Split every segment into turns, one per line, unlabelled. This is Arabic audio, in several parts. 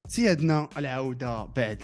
سيادنا العودة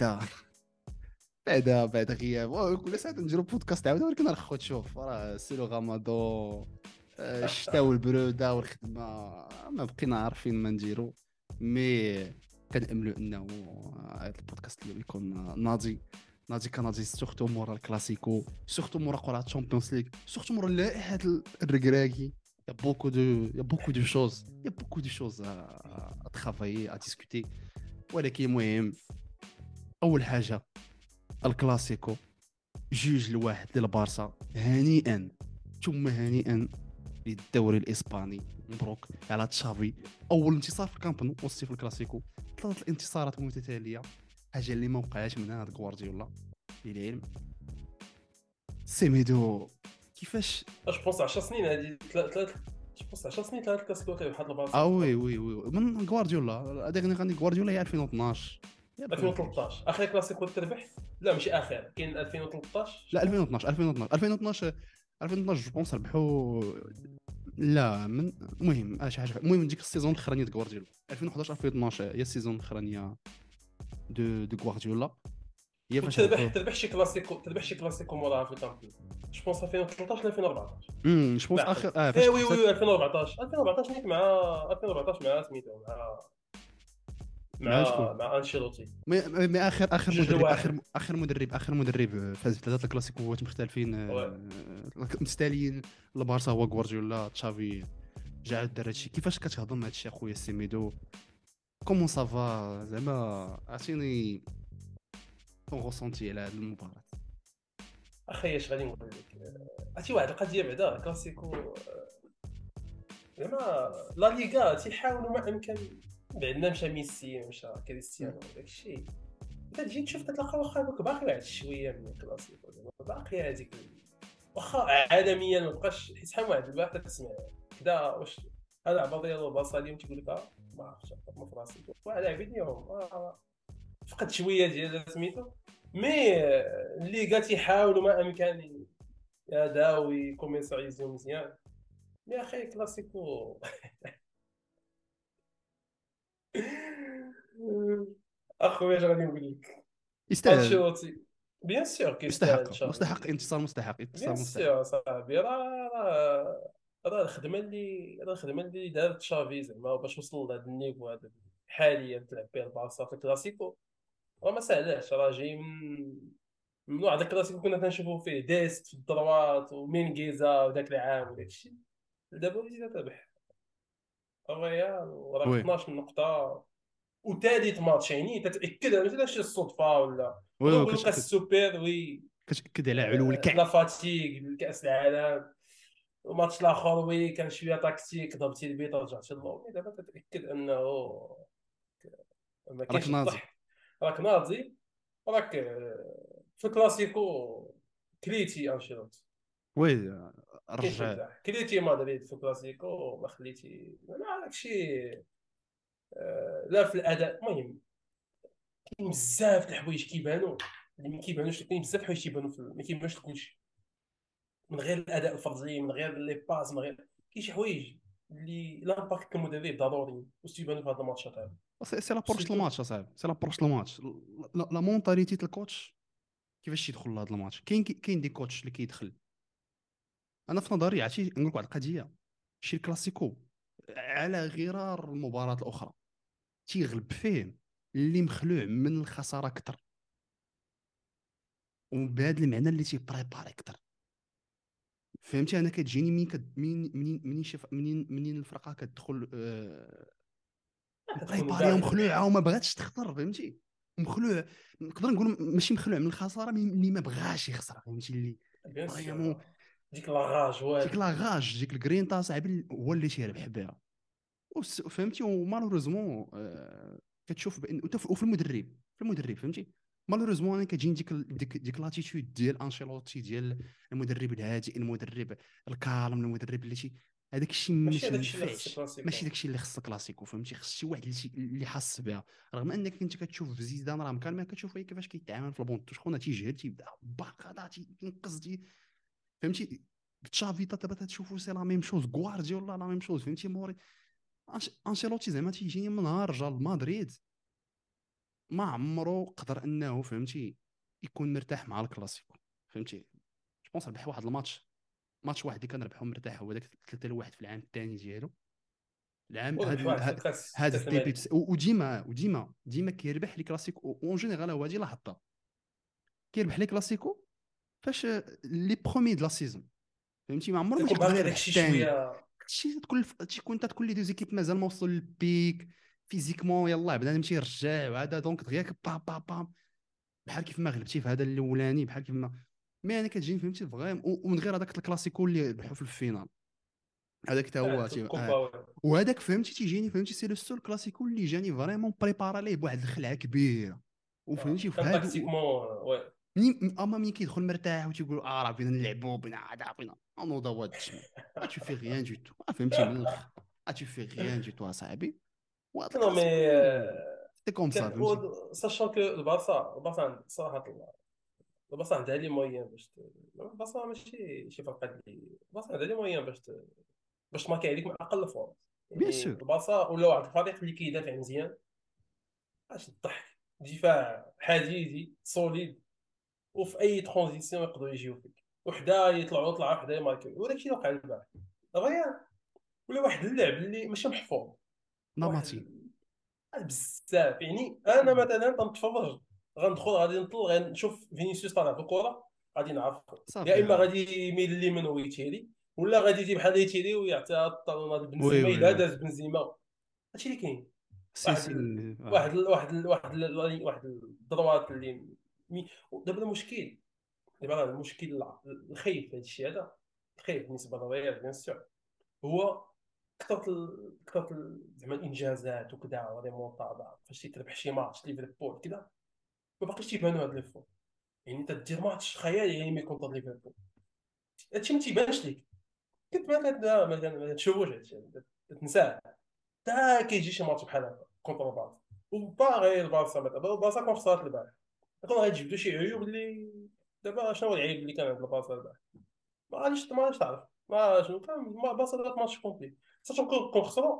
بعد غياب كل ساعة نديرو بودكاست عاودة، ولكن الخو تشوف راه سيلو غامضو. الشتاء والبرودة والخدمة ما بقينا عارفين ما نديرو. مي كنأملوا انه هذا البودكاست اللي يكون ناضي كناضي سورتو مورا الكلاسيكو، سورتو مورا قرعة تشامبيونز ليغ، سورتو مورا اللائحة الركراكي. Il y a beaucoup de choses à travailler, à discuter. ولكن المهم اول حاجه الكلاسيكو، جوج الواحد للبارسا. هنيئا ثم هنيئا للدوري الاسباني. مبروك على تشافي، اول انتصار في الكامب نو وصلتي في الكلاسيكو. ثلاث الانتصارات متتاليه، حاجه اللي ما وقعش من هذا غوارديولا للعلم. سيميدو كيفاش؟
اش بونس 10 سنين هذه ثلاث اش بونس 10 سنين ثلاث كلاسيكو كيبحال البارسا
وي من غوارديولا. غادي غوارديولا هي 2012 يا
2013 اخر كلاسيكو تربح. لا ماشي اخر، كاين 2013
لا
شكون
2012 جو بونس ربحوا. لا من المهم شي حاجه، المهم ديك السيزون الاخرانيه د غوارديولا 2011 2012 هي السيزون الاخرانيه دو غوارديولا، هي فاش
وتربح
ربحوا.
تربح شي كلاسيكو موراها في الكامب نو. جو بونس 2013 ولا 2014
جو بونس
معقل.
اخر
اي
فاش
وي
خسرت.
2014 نيت مع 2014 مع سميتو
مع شكون؟
مع انشيلوتي.
مي اخر
جوج
مدرب،
لواحد.
اخر مدرب فاز بثلاثه الكلاسيكوات مختلفين
وي.
مستاليين. البارسا هو غوارديولا، تشافي جا دار هادشي. كيفاش كتهضم هادشي اخويا سيميدو؟ كومون سافا زعما؟ عطيني طون غوسونتي على هاد المباراة.
اخي اش غادي نقول لك، عرفتي واحد القضيه بعدا كلاسيكو زعما لا ليغا تيحاولوا ما امكن. بعدنا مشى ميسي مشى كريستيانو داكشي، انت تجي تشوف تلقى واخا دوك باقي واحد شويه من الكلاسيكو زعما باقي هذيك واخا عالميا ما بقاش. حيت شحال واحد الواحد تسمع كدا واش هذا عبا ديالو البلاصه اليوم تيقول لك ما عرفتش ما في راسي واحد لاعبين اليوم فقد شويه ديال سميتو. مي الليغا تيحاولوا ما امكن يداو يكوميرسياليزيو مزيان. يا اخي كلاسيكو اخويا اش غادي نقول لك.
يستاهل.
انشيلوتي بيان سور كيستاهل
مستحق مستحق
تشافي.
انتصار، مستحق
بيان
انتصار مستحق.
سور صاحبي راه الخدمه اللي دارت تشافي زعما باش وصل لهذا النيفو هذا حاليا تلعب به البارسا في الكلاسيكو. راه ما ساهلاش، راه جاي من واحد الكلاسيكو كنا تنشوفوا فيه ديست في الدروات ومينغيزا وداك العام وداك الشيء. دابا وليتي تربح الريال وراه
وي
12 نقطه وثالث ماتش، يعني تتاكد ماشي شي الصدفه ولا
وي
ولوكاس السوبر وي.
كتاكد على علو
لا
الكعب.
فاتيغ كاس العالم. الماتش الاخر وي كان شويه تاكتيك، ضربتي البيت رجعتي للومي. دابا تتاكد انه ما
راك
كاينش
ناضي.
الضحك. راك ناضي. راك في الكلاسيكو كليتي انشيلوتي.
وي
كاينش
رجع.
مزاح، كليتي مدريد في الكلاسيكو ما خليتي ما داكشي. لا في الاداء المهم كاين بزاف د الحوايج كيبانوا اللي ما كيبانوش. كاين بزاف الحوايج كيبانوا ما كيبانوش لكلشي من غير الاداء الفردي، من غير لي باس، من غير كاين شي حوايج اللي لامباكت كمدرب ضروري واش تيبانوا في هذا الماتشات هذا.
سي لابروش
سيرتو
الماتش اصاحبي، سي لابروش الماتش. لا مونتاليتي الكوتش كيفاش يدخل لهذا الماتش. كاين دي كوتش اللي كيدخل. انا في نظري عرفتي نقول لك واحد القضيه. شي الكلاسيكو على غرار المباراه الاخرى تيغلب فيه اللي مخلوع من الخساره اكثر، وبهذا المعنى اللي تيبريباري اكثر. فهمتي؟ انا كتجيني منين الفرقه كتدخل
تكون
مبريباريه
باغي
ومخلوعه
تربح.
وما بغاتش تخسر. فهمتي؟ مخلوع. نقدر نقول ماشي مخلوع من الخساره، اللي ما بغاش يخسر. فهمتي؟ اللي
بيان
فريمون
سور ديك لاغاج
ديك
والو.
لاغاج، ديك الجرينتا صاحبي هو اللي تيربح بها. فهمتي؟ ومالوريزمون كتشوف بان وفي المدرب، فهمتي؟ مالوريزمون انا كتجيني ديك لاتيتود ديال انشيلوتي، ديال المدرب الهادئ، المدرب الكالم، المدرب اللي هذاك الشيء
ماشي
ما
هذاك الشيء اللي خص
ينفعش. ماشي
الكلاسيكو.
داك الشيء اللي خص كلاسيكو. فهمتي؟ خص شي واحد اللي حاس بها. رغم انك انت كتشوف في زيدان راه مكان ما كتشوف كيفاش كيتعامل في البونط، شكون تيجهد تيبدا باقا تينقز فهمتي؟ تشافي دابا تشوفوا سي لا ميم شوز، غوارديولا لا ميم شوز. فهمتي؟ انشيلوتي زعما تيجيني من نهار رجع لمدريد ما عمره قدر انه فهمتي يكون مرتاح مع الكلاسيكو، فهمتي. جو بونس ربح واحد الماتش، ماتش واحد اللي كان ربحه مرتاح، هو داك 3-1 في العام الثاني ديالو. العام
وربح واحد في الكاس،
هاد
كاس
الديبي
الملك.
وديما كيربح لي كلاسيكو اون جينيرال. هو هادي لاحظتها، كيربح لي كلاسيكو فاش لي برومي د لا سيزون، فهمتي. ما عمره ما
كيكون
تيقدر
باقي داك
يربح
الشيء
الثاني.
شويه.
هادشي كون تكون لي دو زيكيب مازال ما وصلوا للبيك فيزيكمون، يلاه بدا نمشي يرجع وهذا، دونك دغيا با با با بحال كيف ما غلبتي في هذا الاولاني، بحال كيف ما. مي انا كتجيني فهمتي فغيم، ومن غير هذاك الكلاسيكو اللي ربحوا في الفينال، هذاك حتى هو
الكوبا.
وهذاك فهمتي تيجيني فهمتي سي لو سول كلاسيكو اللي جاني فريمون بريبارا ليه بواحد الخلعه كبيره، وفهمتي في
كان
هادو.
تاكتيكمون وي.
مين كيدخل مرتاح وتيقول راه بغينا نلعبوا بغينا هذا بغينا نوضوا هاد التشمي، tu fais rien du tout. فهمتي من الاخر، tu fais rien du tout اصاحبي. وهاد
نو مي
الكلاسيكو سي كوم سا،
كان
فهمتي.
ساشون كو البارسا صراحه البارسا عندها لي مويان البارسا ماشي فرقه اللي البارسا عندها لي مويان باش تماكي عليك من اقل فرص.
بيان
يعني
سور.
البارسا ولا واحد الفريق اللي كيدافع مزيان، اش الضحك، دفاع حديدي سوليد، وفي اي ترانزيسيون يقدروا يجيو فيك، وحده يطلعوا طلعه وحده يماركيو. وداك الشيء اللي وقع البارح غير، ولا واحد اللعب اللي ماشي محفوظ.
نمطي.
واحد بزاف. يعني انا مثلا غنتفرج، غندخل غادي نطل غنشوف فينيسيوس طالع بالكره، غادي نعرف يا
صافي.
اما غادي يميل ليمين ويتيري، ولا غادي يجي بحال يتيري ويعطيها الطالونات
وي
لبنزيما
وي
الا
وي
داز بنزيما. هادشي اللي كاين.
سي
واحد
سي
واحد الضروات اللي دابا المشكل، دابا المشكل الخايب في هذا الشيء هذا، الخايب بالنسبه للريال بيان سور، هو كثرت زعما الانجازات وكذا وريمونتادا، فاش تربح شي ماتش ليفربول كذا، ما باقيش تيبانوا هاد لي فور. يعني تدير ماتش خيالي يعني ملي يكون ضد ليفربول، هادشي ما تيبانش ليك. كنت ما تشوفوش هادشي، تنساه. تا كيجي شي ماتش بحال هكا كونتر البارسا، وباغي البارسا مثلا البارسا كون خسرات البارح، كون غتجبدوا شي عيوب اللي دابا شنو هو العيب اللي كان عند البارسا البارح؟ ما غاديش تعرف ما شنو كان البارسا دارت ماتش كومبلي، ساشون كون خسروا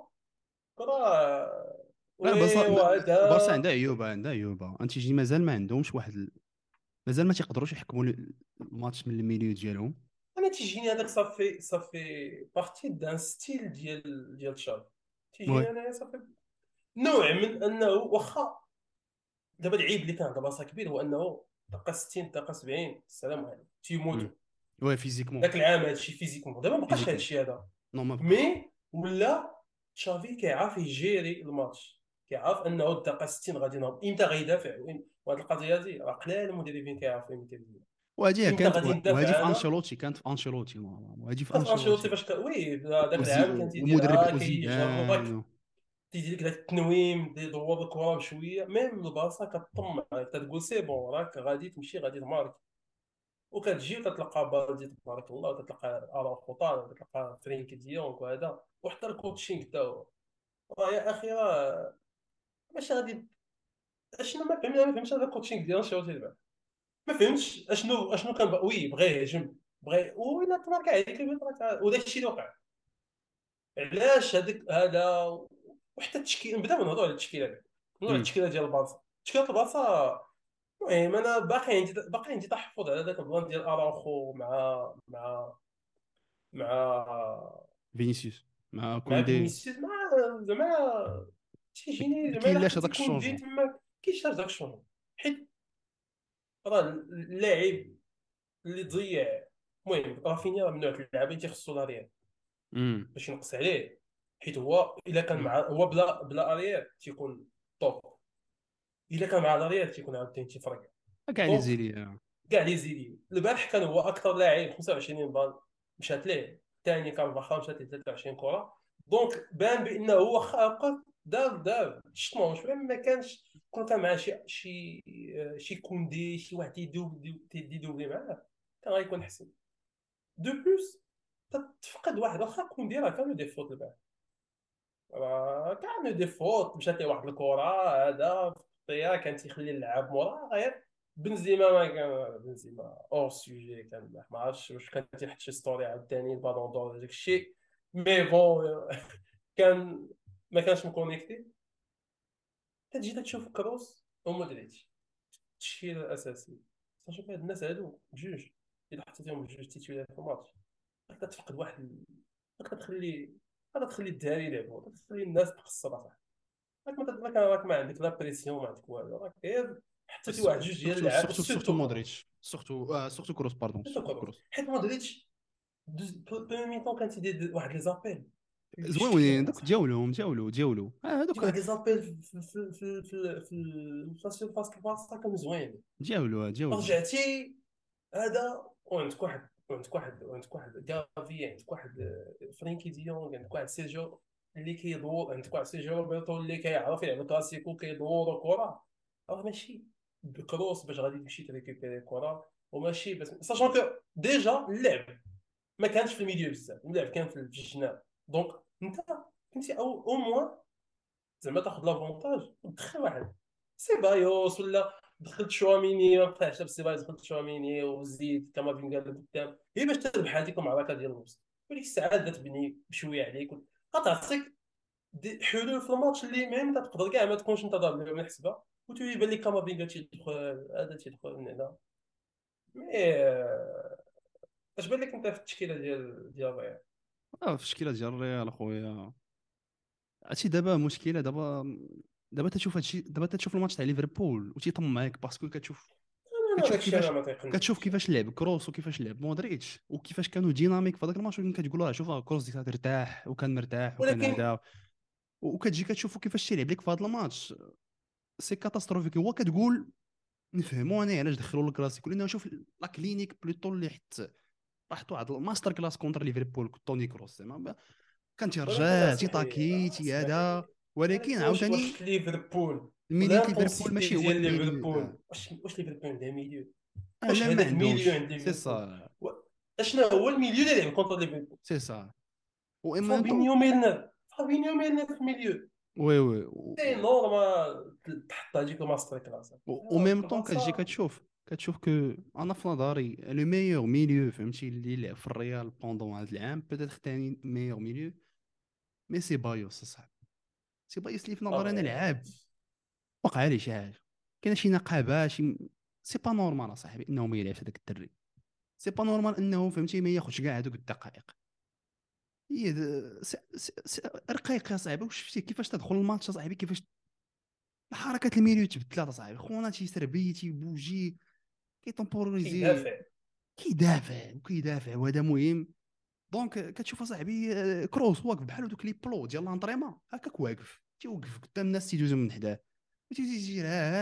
راه
لا بس
وي وهذا.
البارسا عندها عيوبه، انت تيجي مازال ما عندهمش واحد مازال ما تيقدروش يحكموا الماتش من الميليو ديالهم.
انا تيجيني هذاك صافي بارتي دان ستيل ديال تشافي.
وي.
تيجيني انا صافي نوع من انه واخا. دابا العيب اللي كان دابا كبير هو انه دقه 60 دقه 70 السلام عليكم تيموتوا.
وي فيزيكمون.
ذاك العام هادشي فيزيكمون دابا ما بقاش
فيزيكمون
هادشي هذا.
نو ما بقاش.
مي ولا تشافي كيعرف يجيري الماتش، كيعرف انه الدقه 60 غادي نهض امتى غيدافع وهاد القضيه هادي راه قلال المدربين كيعرفوا امتى امتى غادي
وهذه في
ندافع انا.
انشيلوتي، كانت في انشيلوتي نورمالمون، وهذه في
كاف انشيلوتي
انشيلوتي
فاش وي ذاك العام كان
ومدرب
تيديرها
الاوزيدان
كيجرك، تيدير لك ذاك التنويم يدور الكره بشويه. ميم البلاصه كطمع تقول سي بون راك غادي تمشي غادي تمارك، وكتجي وتتلقى بالدي تبارك الله، وتتلقى اراوخو طالع، وتتلقى فرينك ديونغ وهذا، وحتى الكوتشينغ تا هو. يا اخي راه ماشي غادي. اشنو ما فهمتش هذا الكوتشينغ ديال انشيلوتي دابا. ما فهمتش اشنو كان وي بغى يهجم، بغى ويلا تمارك عليك وداك الشيء اللي وقع. علاش هذا وحتى التشكيل نبدا نهضروا على التشكيله هذه، نهضروا على التشكيله ديال البارسا. تشكيله البارسا المهم انا باقي عندي تحفظ على ذاك البلان ديال اراوخو مع
فينيسيوس مع
مع
كوندي.
فينيسيوس زعما تيجيني
ما
زعما الا
كاين لاش
خديتي
هذاك
كوندي
الشونجمون.
تما كيشتاج داك الشغل، حيت راه اللاعب اللي ضيع. المهم رافينيا راه من نوع اللعابه اللي تيخصو لا ريال
امم
باش ينقص عليه، حيت هو الا كان مع هو بلا اريير تيكون توب، الا كان مع الريال تيكون عاوتاني تيفرق.
كاع لي
دونك
زيلي.
كاع لي زيدي البارح كان هو اكثر لاعب، 25 بال مشات ليه، الثاني كان باخا مشات ليه 23 كره. دونك بان بانه هو خاقه دار شتمون شويه ما كانش. كون كان مع شي كوندي شي واحد يدوبلي معاه كان غيكون احسن. دو بلوس تفقد واحد، واخا كوندي راه كانوا دي فوت البارح، كانوا دي فوت مشات ليه واحد الكره هذا فيها كان تيخلي اللعاب مورا غير. بنزيما ما كان بنزيما اور سوجي، كان ما عرفتش واش كان تيحط شي ستوري عاوتاني البالون دور داك الشيء. مي بون كان ما كانش مكونيكتي. تجي تشوف كروس ومودريتش التشكيله الاساسيه. شوف هاد الناس هادو بجوج، الا حطيتيهم بجوج تيتويلات في الماتش غادا تفقد غادا تخلي الدراري يلعبوا، غادا تخلي الناس تقصر صح. راك ما عندك لا بريسيون، ما عندك والو، راك غير حطيتي واحد جوج ديال
سورتو
اللعاب،
سورتو سورتو
وسيرتو
مودريتش، سورتو كروس، باردون،
سيرتو
سورتو
كروس.
كروس.
حيت مودريتش بروميي ميطون كان تيدير واحد لي زابيل اللي
زوينين
شكال
دوك،
اصاحبي.
دياولو
يدير
هذوك.
واحد لي زابيل في السيرفاس البلاصه كانوا زوينين.
دياولو.
رجعتي هذا، وعندك واحد جافي، عندك واحد فرينكي ديونغ، عندك واحد سيرجيو اللي كيدور، عندك واحد سيرجيو روبرتو اللي كيعرف يلعب كلاسيكو كيدور الكره. راه ماشي بكروس باش غادي تمشي تريكوبيري الكره، وماشي بس ساشون كو ديجا اللعب ما كانش في الميديو بزاف، اللعب كان في الجناب. دونك انت كنتي او موان زعما تاخذ لافونتاج ودخل واحد سيبايوس، ولا دخلت شواميني، ما بقاش لابس سيبايوس، دخلت شواميني وزيد كامافينغا لقدام، هي باش تربح هذيك المعركه ديال الوسط. وديك الساعه تبني بشويه عليك، غتعطيك حلول في الماتش اللي ميم تقدر كاع ما تكونش انت ضارب من حسبه، وتيبان لك كامافينغا تيدخل، هذا تيدخل من هنا. مي اش بان لك انت في التشكيله ديال الريال؟
في التشكيله ديال الريال اخويا، هادشي دابا مشكله. دابا تشوف هادشي، دابا تشوف الماتش تاع ليفربول وتيطمعك باسكو
انا
كتشوف
داكشي انا
كيفاش
ما
كتشوف
تيقنعنيش.
كيفاش لعب كروس وكيفاش لعب مودريتش وكيفاش كانوا ديناميك في هذاك الماتش، ولكن كتقول شوف كروس ديك ترتاح وكان مرتاح وكان
ولكن
هذا، وكتجي كتشوفوا كيفاش تيلعب لك في هذا الماتش. سي كاتاستروفيك. هو كتقول نفهموا انا علاش دخلوا الكلاسيكو، لانه شوف لا كلينيك بلوتو اللي حطوا واحد الماستر كلاس كونتر ليفربول توني كروس، زعما كان
ولكن
تيرجع
اسمح
تيطاكي تي هذا.
لي،
ولكن
ولكن واش
عاوتاني
ليفربول
الميليو ليفربول
والانتونسيتي
ماشي هو
ديال
الميليو
ليفربول، واش ليفربول عندها ميليو؟ واش
لا ما
هذاك ميليو
عندهمش،
عند
سي
ليفربول؟
سا.
و- اشنا هو الميليو اللي لعب كونتر ليفربول؟
سي سا. و ان ميم طون.
فابينيو ميلنر، فابينيو ميلنر في الميليو،
وي
سي نورمال تحط هذيك الماستر كلاس.
و ميم طون كتجي
البلاصه
كتشوف كو انا في نظري لو ميور ميليو فهمتي اللي لعب في الريال بوندون هذا العام، بيتيتر ثاني ميور ميليو مي سي بايوس صاحبي. سي بايوس اللي في نظري انا
اه.
لعاب وقع عليه شي حاجه، كاين شي نقابه شي. سي با نورمال اصاحبي انه ما يلعبش هذاك الدري. سي با نورمال انه فهمتي ما ياخذش كاع هذوك الدقائق. هي رقيق يا صاحبي. واش شفتي كيفاش تدخل الماتش صاحبي، كيفاش الحركات الميليو تبدلات صاحبي. خونا تيسربي تيبوجي كيتمبوريزي،
كيدافع.
كيدافع وهذا مهم. دونك كتشوف صاحبي كروس واقف بحال دوك لي بلو ديال لانطريمون هكاك واقف تيوقف قدام الناس تيدوزو من حداه وتيجي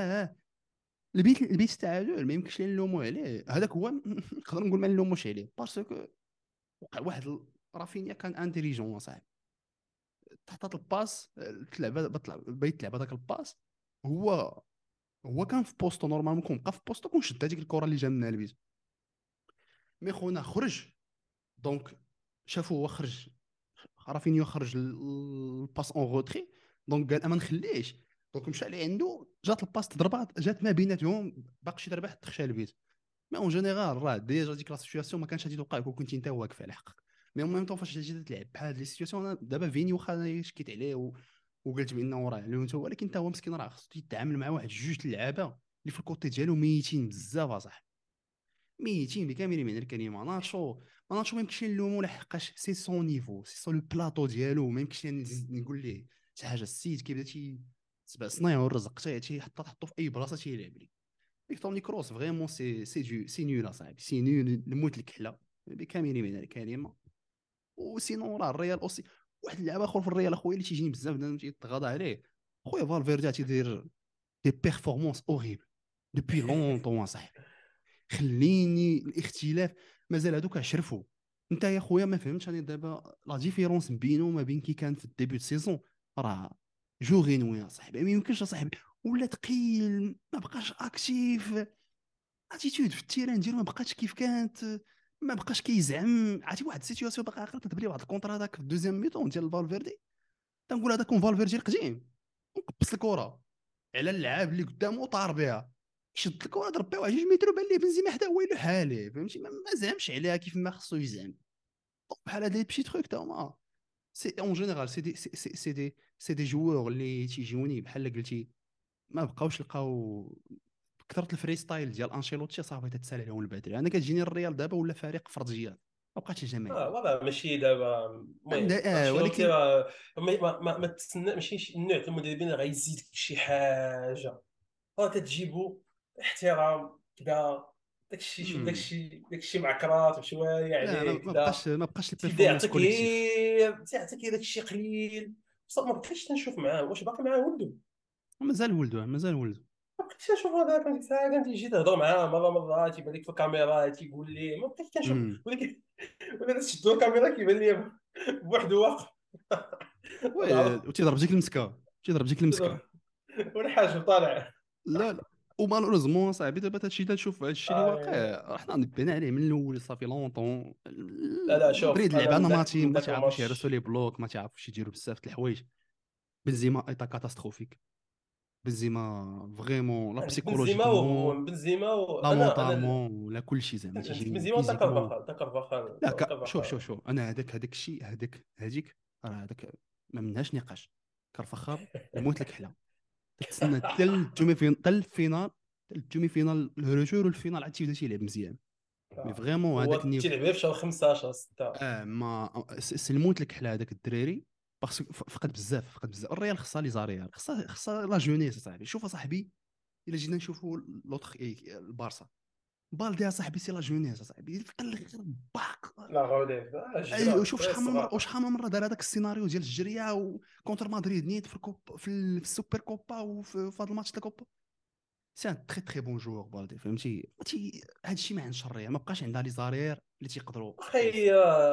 البيت التعادل ما يمكنش لنا نلومو عليه. هذاك هو نقدر نقول ما نلوموش عليه باسكو وقع واحد رافينيا كان انتيليجون صاحبي. تحط الباس بغيت تلعب هذاك الباس. هو هو كان في بوستو نورمالمون، كون بقى في بوستو كون شد هذيك الكره اللي جا منها البيت. مي خونا خرج، دونك شافو هو خرج، رافينيو خرج الباس اون روتري، دونك قال ما نخليش. دونك مشى عليه عنده، جات الباس تضربات جات ما بيناتهم، باقي شي ضربه تخشى البيت. مي اون جينيرال راه ديجا ديك لا سيتوياسيون ما كانش غادي توقع كون كنت انت واقف على حقك. مي اون ميم طون فاش تجي تلعب بحال هاد لي سيتوياسيون دابا فيني واخا شكيت عليه وقلت بانه راه لونتو، ولكن انت هو مسكين راه خصو يتعامل مع واحد جوج اللعابه اللي في الكوتي ديالو ميتين بزاف اصاحبي، ميتين بكامل من الكلمه. ناتشو ما يمكنش نلومو لحقاش سي سون نيفو، سي سون لو بلاطو ديالو، ما يمكنش نزيد نقول ليه شي حاجه. السيد كيبدا سبع صنايع والرزق تحطو في اي بلاصه تيلعب لي. فيكتور كروس فريمون سي نول اصاحبي، سي نول الموت الكحله بكامل من الكلمه. وسينون راه الريال اوسي واحد اللاعب اخر في الريال اخويا اللي تيجيني بزاف بنادم تيتغاضى عليه، خويا فالفيردي تيدير دي بيرفورمانس اوريبل دوبوي لونطون صاحبي. خليني الاختلاف مازال هذوك عشرفوا. انت يا خويا ما فهمتش انا دابا لا ديفيرونس بينه وما بين كي كان في الديبيو سيزون. راه جو غينوي يا صاحبي، ما يمكنش يا صاحبي. ولا ثقيل، ما بقاش اكتيف، اتيتود في التيران ديالو ما بقاتش كيف كانت، ما بقاش كيزعم. عرفتي واحد السيتوياسيون باقي عاقل كتب لي واحد الكونتر هذاك في الدوزيام ميتون ديال فالفيردي، تنقول هذاك كون فالفيردي القديم وقبس الكره على اللعاب اللي قدامه وطار بها، شد الكره ضرب بها واحد 2 متر وبان ليه بنزيما حدا هو له حاله فهمتي، ما زعمش عليها كيف ما خصو يزعم. بحال هاد لي بشي تروك تا هما سي اون جينيرال سي دي جوور اللي تيجوني بحال قلتي ما بقاوش لقاو كثرة الفري ستايل ديال انشيلوتي صافي تتسالي عليهم البدري. انا كتجيني الريال دابا ولا فريق فرضيات، ما بقاتش جماهيريه.
والله ماشي دابا. المهم انشيلوتي
ولكن
راه ما تسنى، ماشي النوع ديال المدربين اللي غيزيد شي حاجه. راه كتجيبو احترام كذا،
مم.
داك الشيء معكرات وشويه
لا،
عليه كذا.
ما بقاش
تيبدا
البيرفورمانس كوليكتيف.
يعطيك داك الشيء قليل. بصح ما بقيتش تنشوف معاه، واش باقي معاه ولده؟
مازال ولده، مازال ولده.
ما بقيتش نشوف هذاك ديك الساعه، كنت يجي تهضر معاه مره تيبان لك في الكاميرا تيقول لي، ما بقيتش كنشوف.
امم
ولكن تشدوا الكاميرا كيبان لي بوحده واقف.
وي،
نعرف.
وتيضرب ديك المسكه، تيضرب ديك المسكه.
والحاج طالع.
لا لا. ومالوريزمون صاحبي دابا هادشي تنشوف، هادشي اللي واقع حنا نبينا عليه من الاول صافي لونطون.
لا شوف،
مدريد
انا
لعبه
من
نماتي، ما
ذاك
تعرفوش يهرسوا
الماتش.
لي بلوك، ما تعرفوش يديروا بزاف د الحوايج. بنزيما ايتا كاتاستروفيك. بنزيما فريمون لا
عندك بنزيما
بسيكولوجيكمون لا
انا
مونطالمون لا كلشي زعما
عندك
تيجيني
بنزيما وتا
فيزيكمون.
كارفاخال،
لا شوف
كارفاخال.
انا هذاك الشيء هذيك راه هذاك ما منهاش نقاش. كارفخال يموت لك حلا. تتسنى حتى الجومي فين حتى الفينال، حتى الجومي فينال الروتور والفينال عاد تيبدا تيلعب مزيان. مي فريمون هذاك
هو
النيف.
تيلعب غير في شهر 15 6.
ما سلموت لك حلا هذاك الدراري. باسكو فقد بزاف الريال خصها لي زاريال، خصها لا جونيس صاحبي. شوف صاحبي، الا جينا نشوفوا لوطخ البارسا، بالدي صاحبي سي لا جونيس صاحبي في الاخر باق.
لا غودي جرا
شوف
دراري
شحال من مره
الصغار.
وشحال من مره دار هذاك السيناريو ديال الجريه وكونتر مدريد نيت في الكوب في السوبر كوبا وفي هذا الماتش تاع الكوبا. سي ان تري تري بون جوور بالدي فهمتي. هذا الشيء ما عندش الريال، ما بقاش عندها لي زارير اللي تيقدروا
اخي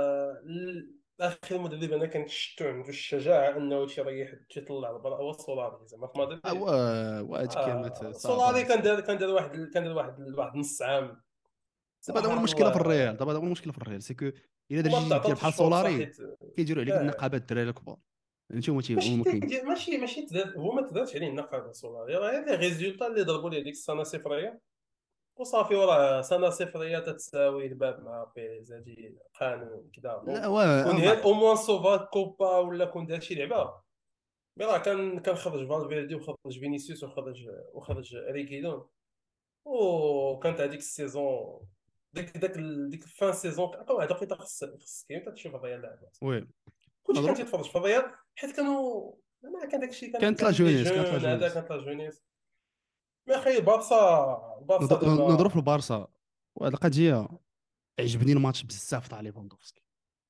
اخي المدرب انا كنشتو عنده الشجاعه انه تيطلع البلاصه، هو سولاري زعما في مدريد.
وهاد كلمات
سولاري
صعبه.
كان دار واحد نص عام
دابا هذا هو
صراحه
المشكله في
الله.
الريال، دابا هذا هو المشكله في الريال سي كو الا
وما
درتي دير
تعطاتش
بحال
فرصه
سولاري
حيت
كيديروا عليك
اه
النقابات الدراري الكبار. فهمتي هما
ماشي
كاين.
ماشي هو ما تدارش عليه النقابه سولاري، راه غير لي ريزولتا اللي ضربوا ليه ديك السنه صفريه وصافي. وراه سنه صفريه تتساوي الباب مع بيريز، هادي قانون كذا
لا
دونك. كون غير او موان سوفا كوبا ولا كون دار شي لعبه. مي راه كان خرج فالفيردي وخرج فينيسيوس وخرج ريكيدون. وكانت هذيك السيزون، ديك الفان سيزون هذا وقيته خص كاين تشوف الريال لاعبات.
وي
كلشي كان
نضرب.
تيتفرج في الريال حيت كانوا ما كان داك الشيء،
كانت لا
كان لي
جونيس،
جون هذا، كانت لا جونيس. مي اخي البارسا
نضرب في
دابا
البارسا. وهذه القضيه عجبني الماتش بزاف تاع ليفاندوفسكي.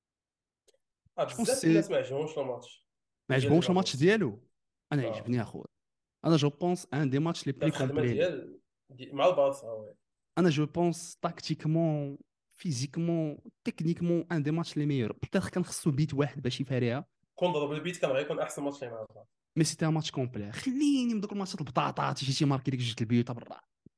شكون
بزاف
سي
الناس ما عجبهمش الماتش
ما
ديال
عجبهمش الماتش
ليفاندوفسكي.
ديالو. انا
اه
عجبني اخويا. انا جو بونس ان دي ماتش لي
دار
بلي
الخدمه
كومبلي ليه.
مع البارسا وي.
انا جو بونس تاكتيكمون فيزيكمون تكنيكمون ان دي ماتش لي ميور. بيتيتر كان خصو بيت واحد باش يفاريها.
كون ضرب البيت كان غيكون احسن ماتش ليه مع البارسا.
مي سيتي ان ماتش كومبلي. خليني من دوك الماتشات البطاطا تيجي ماركي ديك جوج البيوت برا.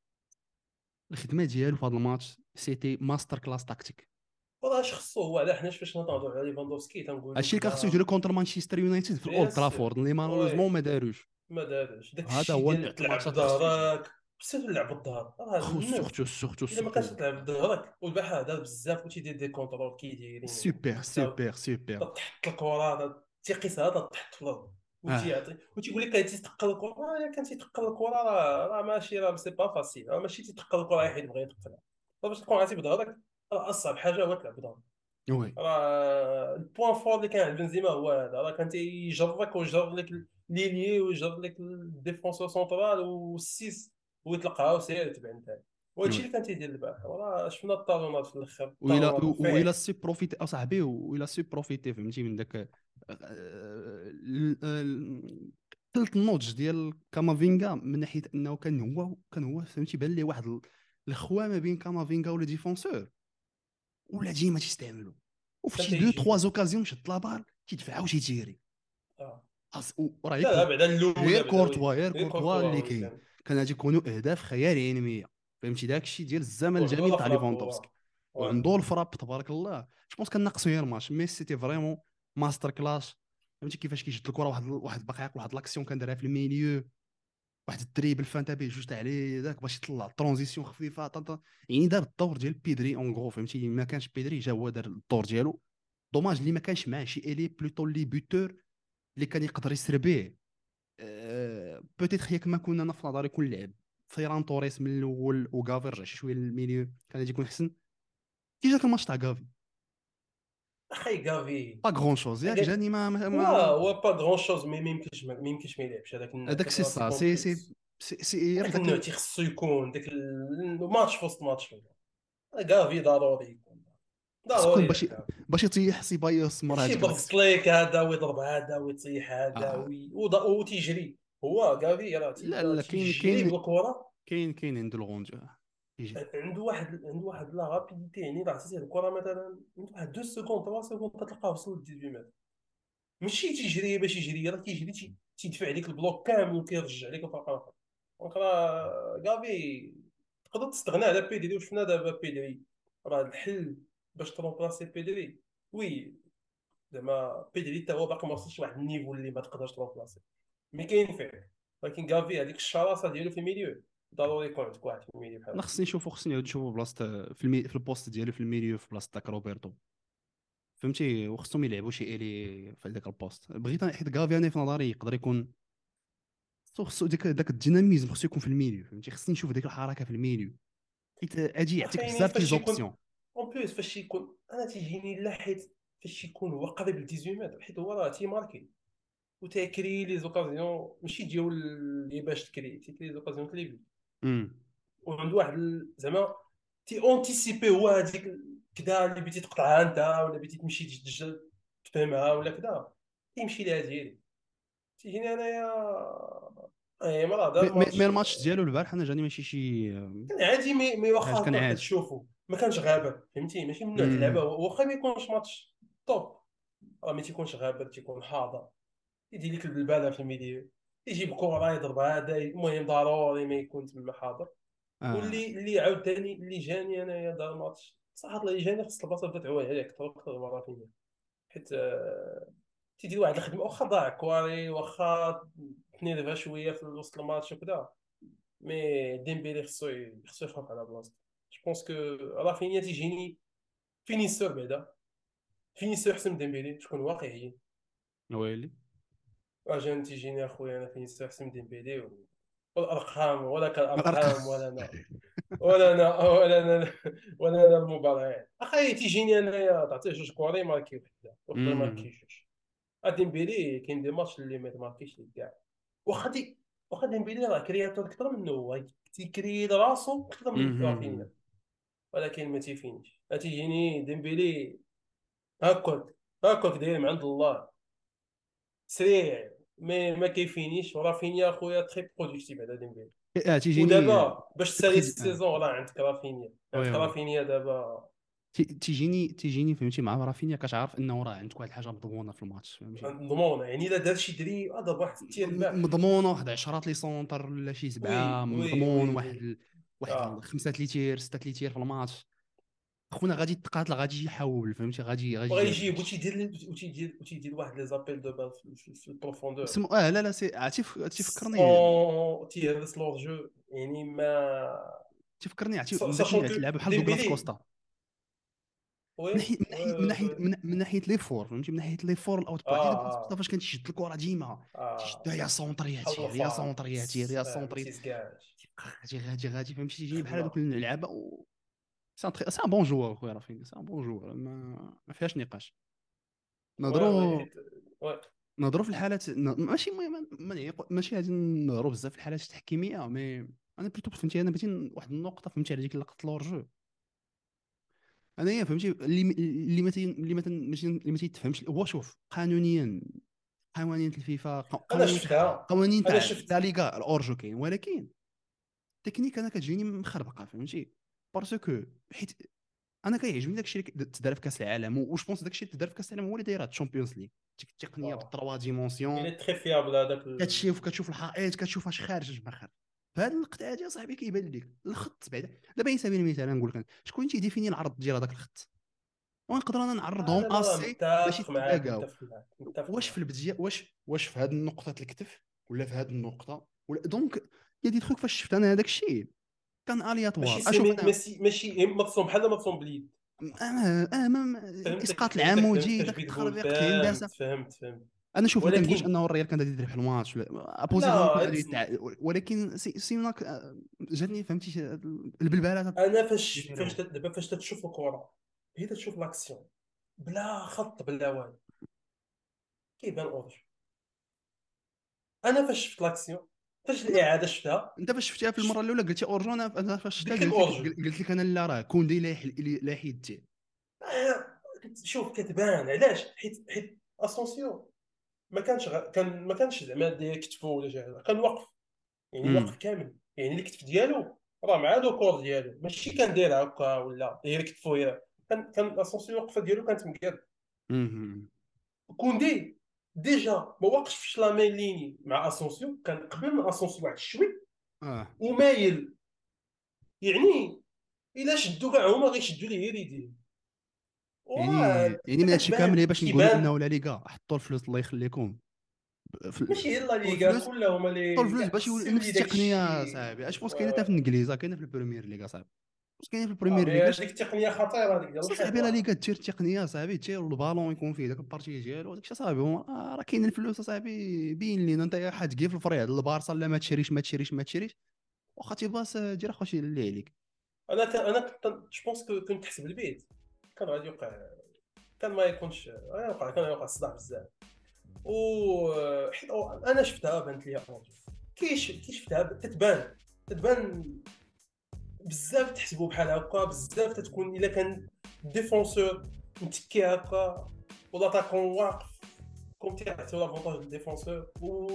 الخدمه ديالو في هذا الماتش سيتي ماستر كلاس تاكتيك.
والله اش خصو هو، على حنا فاش نهضروا على ليفاندوفسكي تنقولوا
هادشي اللي كان خصو
كذا.
يديرو كونتر مانشستر يونايتد في
بيان
الاولد
سور
ترافورد اللي مالوريزمون
وي.
ما داروش.
ما دارش داك
هذا
الشيء
هو
ديال
النوع تاع
تلعب
الماتشات اللي خصو يدير.
بظهرك. خصو تلعب بالظهر، راه الناس الا ما كانش
سورتو
تلعب بظهرك. والبارح دار بزاف وتيدير دي كونترول كي دايرين
سوبر.
تحط الكره تيقيسها تحط في الارض
اه
وتيقول لك تيتقل الكره. الا كان تيتقل الكره راه ماشي، راه سي با فاسيل، راه ماشي تيتقل الكره حيت بغى يتقلها. باش تكون عارف بظهرك، راه اصعب حاجه هو تلعب بظهرك.
وي
راه البوان فور اللي كان عند بنزيما هو هذا، راه كان تيجرك ويجر لك لينيي ويجر لك الديفونسور سونترال والسيس ويطلقها وسير تبع انت. وهادشي
وي.
اللي كان تيدير البارح. وراه شفنا الطالونات في الاخر،
وإلا
الطالونات
وإلا
فيه.
سي بروفيتي اصاحبي، وإلا سي بروفيتي فهمتي من داك ثلث النضج ديال كامافينغا من ناحيه انه كان هو فهمتي بان ليه واحد الخوا ما بين كامافينغا ولا ديفونسور ولا ديما تيستعملوا. وفي
كان
شي دو تخوا
تيجبدو.
زوكازيون شد لابال تيدفع وتيتيري.
اه
وراه
لا
غير
بعدا
غير
الاولى بعدا وي.
كورتوا غير
غير
كورتوا
كورتوا
اللي
وي
كاين.
كان.
كان غادي يكونوا اهداف خياليه. فهمتي داك الشيء ديال الزمن
وعنده
الجميل
لا
تاع
فراب
ليفاندوفسكي.
هو.
وعنده الفراب تبارك الله. جو بونس كان ناقصو غير ماتش مي سيتي فريمون ماستر كلاس. فهمتي كيفاش كيشد الكره واحد باقي واحد لاكسيون كان دارها في الميليو. واحد الدريبل فانتا به جوج تاع عليه داك باش يطلع ترانزيسيون خفيفه يعني دار الدور ديال بيدري اون غرو فهمتي. ما كانش بيدري جا هو دار الدور ديالو. دوماج اللي ما كانش معاه شي الي بلوتو لي بوتور اللي كان يقدر يسربيه. بوتيتر ياك ما كنا انا في نظري كون لعب فيران توريس من الاول وغافي رجع شي شويه للميليو كان غادي يكون احسن. كي جاك الماتش تاع غافي
اخي كافي
با غرون شوز ياك
قال
جاني
هو با غرون شوز، مي ما يمكنش ما يلعبش هذاك النوع،
هذاك
داك
سي
راسي
سا سي
كومبلكس.
غير
هذاك
داك
النوع تيخصو يكون داك الماتش في وسط ماتش. كافي ضروري يكون،
خصو يكون
ضروري داك.
باش يطيح سيبايوس مرة
ماشي
هذيك
يبسط ليك هذا ويضرب هذا ويطيح هذا
آه.
وتيجري. هو كافي راه
لا
تيبدا
لا
تيجري بالكره.
كاين عنده الغونج يجي.
عنده واحد لا رابيديتي، يعني الا عطيتيه الكره مثلا عنده واحد 2 سكوند 3 سكوند تلقاه وصل ل 18 متر. ماشي تيجري باش يجري، راه كيجري تيدفع عليك البلوك كامل وكيرجع عليك الفرق الاخر. دونك راه كافي تقدر تستغنى على بيدري، وشفنا دابا بيدري راه الحل باش ترومبلاسي بيدري. وي زعما بيدري حتى هو باقي ما وصلش لواحد النيفو اللي ما تقدرش ترومبلاسي، مي كاين فيه. ولكن كافي هذيك الشراسه ديالو في الميليو، ضروري يكون عندك واحد في الميليو بحال
انا
هكا.
خصني نعاود نشوفو بلاصه في البوست ديالو في الميليو في بلاصه داك روبرتو فهمتي وخصهم يلعبوا شي الي في هذاك البوست بغيت حيت غافي انا في نظري يقدر يكون خصو داك الديناميزم خصو يكون في الميليو فهمتي خصني نشوف ديك الحركه في الميليو حيت اجي يعطيك
عارفين
بزاف تي
فاش يكون
زوبسيون.
اون بليس، فاش يكون انا تيجيني لا، حيت فاش يكون هو قريب ل 18 متر، حيت هو راه تيماركي وتيكري لي زوكازيون ماشي ديال اللي باش تيكري لي زوكازيون تليفي.
امم
وعنده واحد زعما تي اونتيسيبي هو هذيك كدا اللي بغيتي تقطعها انت، ولا بغيتي تمشي تفهمها ولا كدا، تيمشي لها ديالي. تيجيني انايا اي مرة هذا
مي
الماتش
الماتش ديالو البارح انا جاني ماشي شي
كان عادي. مي
حاجه
واخا
كان
هكا
عادي.
كتشوفو ما كانش غابر، فهمتي؟ ماشي من نوع اللعبه،
امم
واخا ما يكونش ماتش توب، راه ما تيكونش غابر، تيكون حاضر. يدير لك البلباله في الميديو، يجيب كره يضرب هذا، المهم ضروري ما يكون تما حاضر.
اه
واللي عاوتاني اللي جاني انايا دار الماتش صراحه، اللي جاني خص البلاصه بدات تعوج عليك اكثر مره فيا. حيت تيدير واحد الخدمه، واخا ضاع كواري، واخا تنيرفا شويه في وسط الماتش وكذا، مي ديمبيلي خصو يخاف على بلاصتو. جو بونس كو رافينيا تيجيني فينيسور بعدا، فينيسور احسن من ديمبيلي، شكون واقعيين.
ويلي
اجان تيجيني اخويا انا فينيسور احسن من ديمبيلي والارقام ولا
الارقام
كالارقام، ولا انا ولا انا المباريات. اخي تيجيني انايا تعطيه جوج كوري ماركي وحده ويقدر
امم
ماركي جوج. ديمبيلي كاين دي ماتش اللي ما ماركيش ليه كاع. واخا واخا ديمبيلي راه كرياتور اكثر منه، هو تيكري راسو اكثر من رافينيا، ولكن ما تيفينش. تيجيني ديمبيلي هكاك هكاك داير من عند الله، سريع ما كيفينيش. ورافينيا خويا تري برودكتيف على ديمبيلي.
تيجيني
ودابا باش تسالي
تخي
السيزون راه عندك رافينيا،
وي
عندك
وي
رافينيا دابا.
تيجيني فهمتي مع رافينيا كتعرف انه راه عندك واحد الحاجه مضمونه في الماتش فهمتي
ضمون يعني الا دار شي دري ضرب واحد التير باح.
مضمون واحد 10 لي سونتر ولا شي
وي
سبعه
وي
مضمون
وي وي
واحد
اه.
خمسه لي تير سته لي تير في الماتش خونا غادي تقاتل غادي يجي يحاول فهمتي غادي
بغا
يجي هذا
يجيب
الشيء
وتيدير واحد لي زابيل دو بال في البروفوندور،
لا لا تيفكرني
سون تيهرس لور جو، يعني ما
من داك
ساشون
الشيء
كو
تلعب بحال دوغلاس
ديمبيلي.
كوستا
وي وي وي
من ناحيه لي فور فهمتي من ناحيه لي فور الاوت بوي حيت دوغلاس كوستا
اه
فاش كان تيشد الكره ديما تيشدها يا سونطر يا
بحال
تير يا
الفار،
سونطر يا تير يا
ما
سونطر
تيزكاش
غادي فهمتي تيجيني بحال هذوك
خدمه.
اللعابه سي ان بون جوار خويا رافينيا سي ان بون جوار ما فيهاش نقاش
وي وي
نهضروا
حيت وي.
في الحالات ماشي ماشي غادي نهضروا بزاف في الحالات التحكيميه مي انا بلوتو فهمتي انا بغيت واحد النقطه فهمتي على ديك لقطه لورجو انايا فهمتي اللي ما تيتفهمش هو شوف قانونيا قوانين الفيفا
انا
قوانين
شفتها،
قوانين
انا
تاع لا
شفت.
ليغا الاورجو كاين ولكن تكنيك انا كتجيني مخربقه فهمتي باسكو حيت انا كيعجبني داكشي اللي تدار في كاس العالم وش بونس داكشي اللي تدار في كاس العالم هو اللي دايره الشامبيونز ليغ ديك التقنيه
اه
بالتروا
الى
ديمونسيون
تري فيابل هذاك
كتشوف الحائط كتشوف اش خارج اش ما خارج فهاد اللقطه هادي صاحبي كيبان لك الخط بعدا دابا على سبيل المثال نقول لك شكون تيديفيني العرض ديال هذاك الخط ونقدر انا نعرضهم
لا لا لا،
اسي باش
متفق معاك
يتلاقاو
متفق معاك متفق
واش في
معاك.
البدايه واش في هذه النقطه الكتف ولا في هذه النقطه ولا دونك يا دي تخوك فاش شفت انا هذاك الشيء كان
ماشي
الياتوار اشوف
سيمي،
انا
ماشي متصوم بحال متصوم باليد.
اسقاط
فهمتك
العمودي
فهمتك
داك
اش بغيت تقول،
التخربيق كاين داسه
فهمت.
انا شوف ما كنقولش
ولكن
انه الريال كان غادي يربح الماتش ابوزيتيفمون كان
لا
غادي ولكن سيناك جاتني فهمتي البلباله
انا
ديالو.
دابا فاش تشوف الكره، هي تشوف لاكسيون بلا خط بلا والو، كيبان اورج. انا فاش شفت لاكسيون، فاش الاعاده شفتها،
انت فاش شفتيها في المره الاولى قلتي اورجون، انا فاش شفتها
قلت لك
قلت لك
اورج.
قلت لك انا لا راه كوندي لا يديه.
شوف كتبان علاش، حيت اسونسيون ما كانش زعما داير كتفو ولا شي حاجه، كان واقف، يعني واقف
امم
كامل، يعني الكتف ديالو راه مع لو كور ديالو، ماشي كان داير هكا ولا غير كتفو هي. كان اسونسيون الوقفه ديالو كانت مقاد.
امم
كوندي ديجا ما واقفش لا مين ليني مع اسونسيون، كان قبل من اسونسيون واحد شوي
اه
ومايل، يعني الا شدوا كاع هما غيشدوا ليه غير يديه.
يعني
وراه
من هادشي كامل هي باش نقولوا
كيبان.
انه لا ليغا حطوا الفلوس الله يخليكم
ماشي هي لا
حطوا
ليغا
الفلوس،
كلها هما
حطوا
اللي
الفلوس باش
كيخصو
نفس
يولي داك
التقنيه
الشيء.
صاحبي. اش بونس كاينه حتى في الانجليزه، كاينه في البريمير ليغا صاحبي، واش كاينه في
اه
البريمير
مي
ليغا
هذيك التقنيه خطيره هذيك ديال
صاحبي. لا
الشوط.
ليغا دير تقنيه صاحبي، تير البالون يكون فيه داك البارتي ديالو داكشي صاحبي. راه كاين الفلوس صاحبي، بين لينا انت حاج كيف الفريق البارسا لا ما تشريش ما تشريش ما تشريش، واخا تيباس دير اخوتي اللي عليك.
انا كنت جو بونس كنت تحسب البيت كان غادي يوقع، كان ما يكونش يوقع، كان يوقع الصداع بزاف. و حيت انا شفتها بانت لي اورجو، كي شفتها تتبان بزاف، تحسبوا بحال هكا بزاف، تتكون الا كان ديفونسور متكي هكا ولا تاكون واقف، كون تعطيو لافونتاج للديفونسور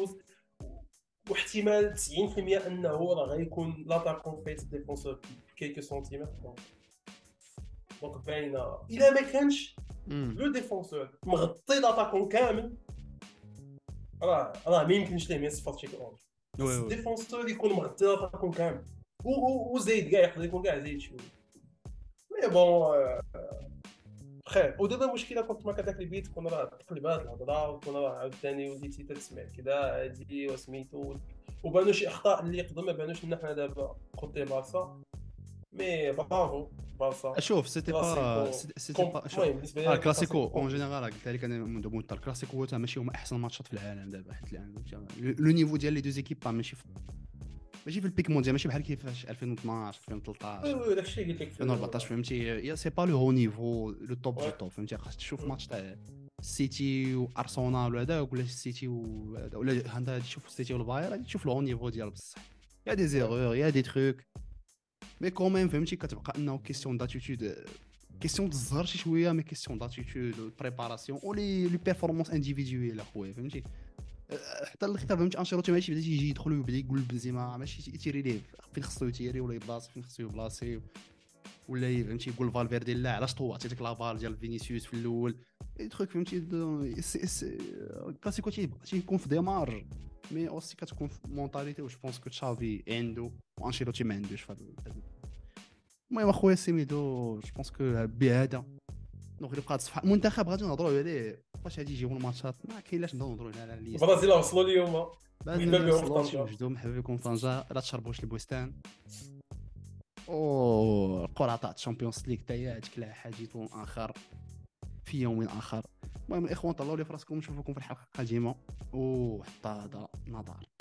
واحتمال 90% انه راه غيكون لاتاكون فايت الديفونسور بكيكو سنتيمتر. دونك باينه الا ما كانش
امم
لو ديفونسور مغطي لاتاكون كامل، راه ما يمكنش ليه ما يصفر شي اورج.
وي
خص
وي
الديفونسور يكون مغطي لاتاكون كامل، وزايد كاع يقدر يكون كاع زايد شويه. مي بون بخير. ودابا المشكله كنت ما كداك البيت، كنا راه تقلبات الهضره، وكنا راه عاوتاني وليتي تسمع كذا هادي وسميتو، وبانوا شي اخطاء اللي يقدر ما بانوش لنا حنا دابا كوتي بارسا. مي برافو بارسا،
شوف سيتي با
كلاسيكو
سيتي با شوف.
المهم بالنسبه لي كان
الكلاسيكو
كلاسيكو
اون
كومبلي.
جينيرال قلت لك انا منذ مده، الكلاسيكو هو ماشي هما احسن ماتشات في العالم دابا، حيت لو نيفو ديال لي دوز ايكيب ماشي في البيك مونديال، ماشي بحال كيفاش 2012
وي
2013
وي داكشي اللي قلت لك في
2014 فهمتي. يا سي با لو هو نيفو لو توب
وي.
دو توب فهمتي. خاصك تشوف ماتش تاع السيتي وارسنال وهذاك، ولا السيتي ولا انت تشوف السيتي والباير غادي تشوف لو نيفو ديال بصح. يا دي زيرور يا دي تروك، مي كوميم فهمتي كتبقى انه كيسيون داتيتود، كيسيون تزهر شي شويه، مي كيسيون داتيتود بريباراسيون ولي بيرفورمانس انديفيدويل اخويا فهمتي. حتى الاختيار فهمتي انشيلوتي ماشي بدا تيجي يدخل ويبدا يقول بنزيما ماشي يتيري ليه فين خصو يتيري، ولا يبلاصي فين خصو يبلاصي، ولا فهمتي يقول فالفيردي لا علاش طوعتي ديك لابال ديال فينيسيوس في الاول. اي تخوك فهمتي الكلاسيكو تيكون في ديمارج، مي اوسي كتكون في مونطاليتي. واش بونس كو تشافي عنده وانشيلوتي ما عندوش في المهم اخويا سيميدو. جو بونس كو بهذا دونك اللي بقات صفحه المنتخب غادي نهضروا عليه فاش غادي يجيو الماتشات، ما كاين لاش نبداو نهضروا على الليست.
البرازيل وصلوا اليوم،
بعد
مرحبا
اللي
بهم في
وصلوا شي
طنجة.
وجدوا مرحبا بكم في طنجه، لا تشربوش البستان. او القرعه تاع الشامبيونز ليغ حتى هي تكلا حديث اخر في يوم اخر. المهم الاخوان طلعوا لي فراسكم، نشوفكم في الحلقه القادمه، وحتى هذا نظر.